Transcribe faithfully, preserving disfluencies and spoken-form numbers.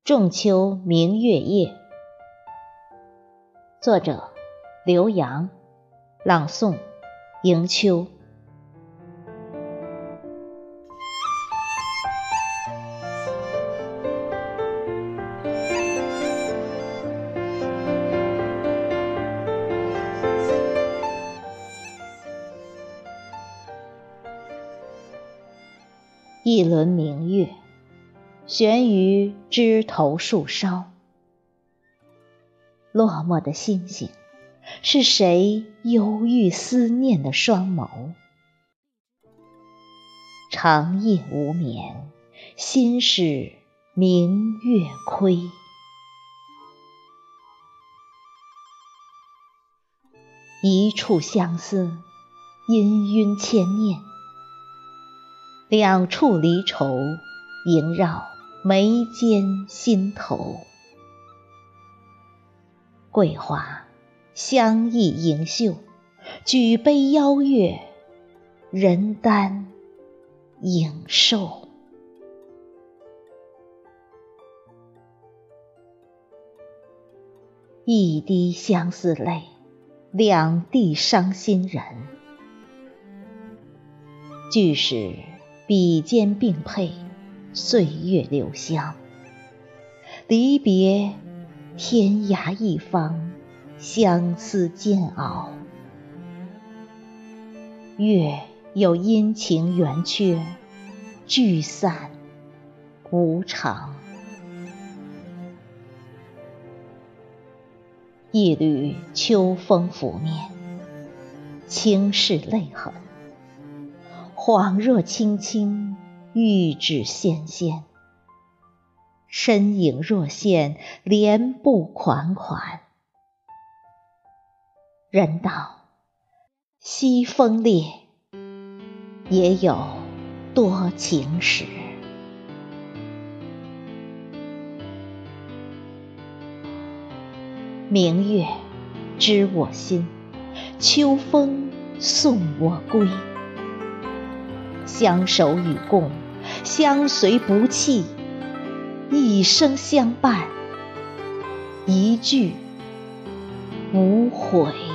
仲秋明月夜，作者刘洋，朗诵迎秋。一轮明月悬于枝头树梢，落寞的星星是谁忧郁思念的双眸？长夜无眠，心是明月亏。一处相思，氤氲千念，两处离愁，萦绕眉间心头。桂花相依盈袖，举杯邀月，人丹影瘦。一滴相思泪，两地伤心人。俱是笔尖并配，岁月留香。离别天涯一方，相思煎熬。月有阴晴圆缺，聚散无常。一缕秋风拂面，轻拭泪痕。恍若青青，玉指纤纤，身影若现，莲步款款。人道西风烈，也有多情时。明月知我心，秋风送我归。相守与共，相随不弃，一生相伴，一句无悔。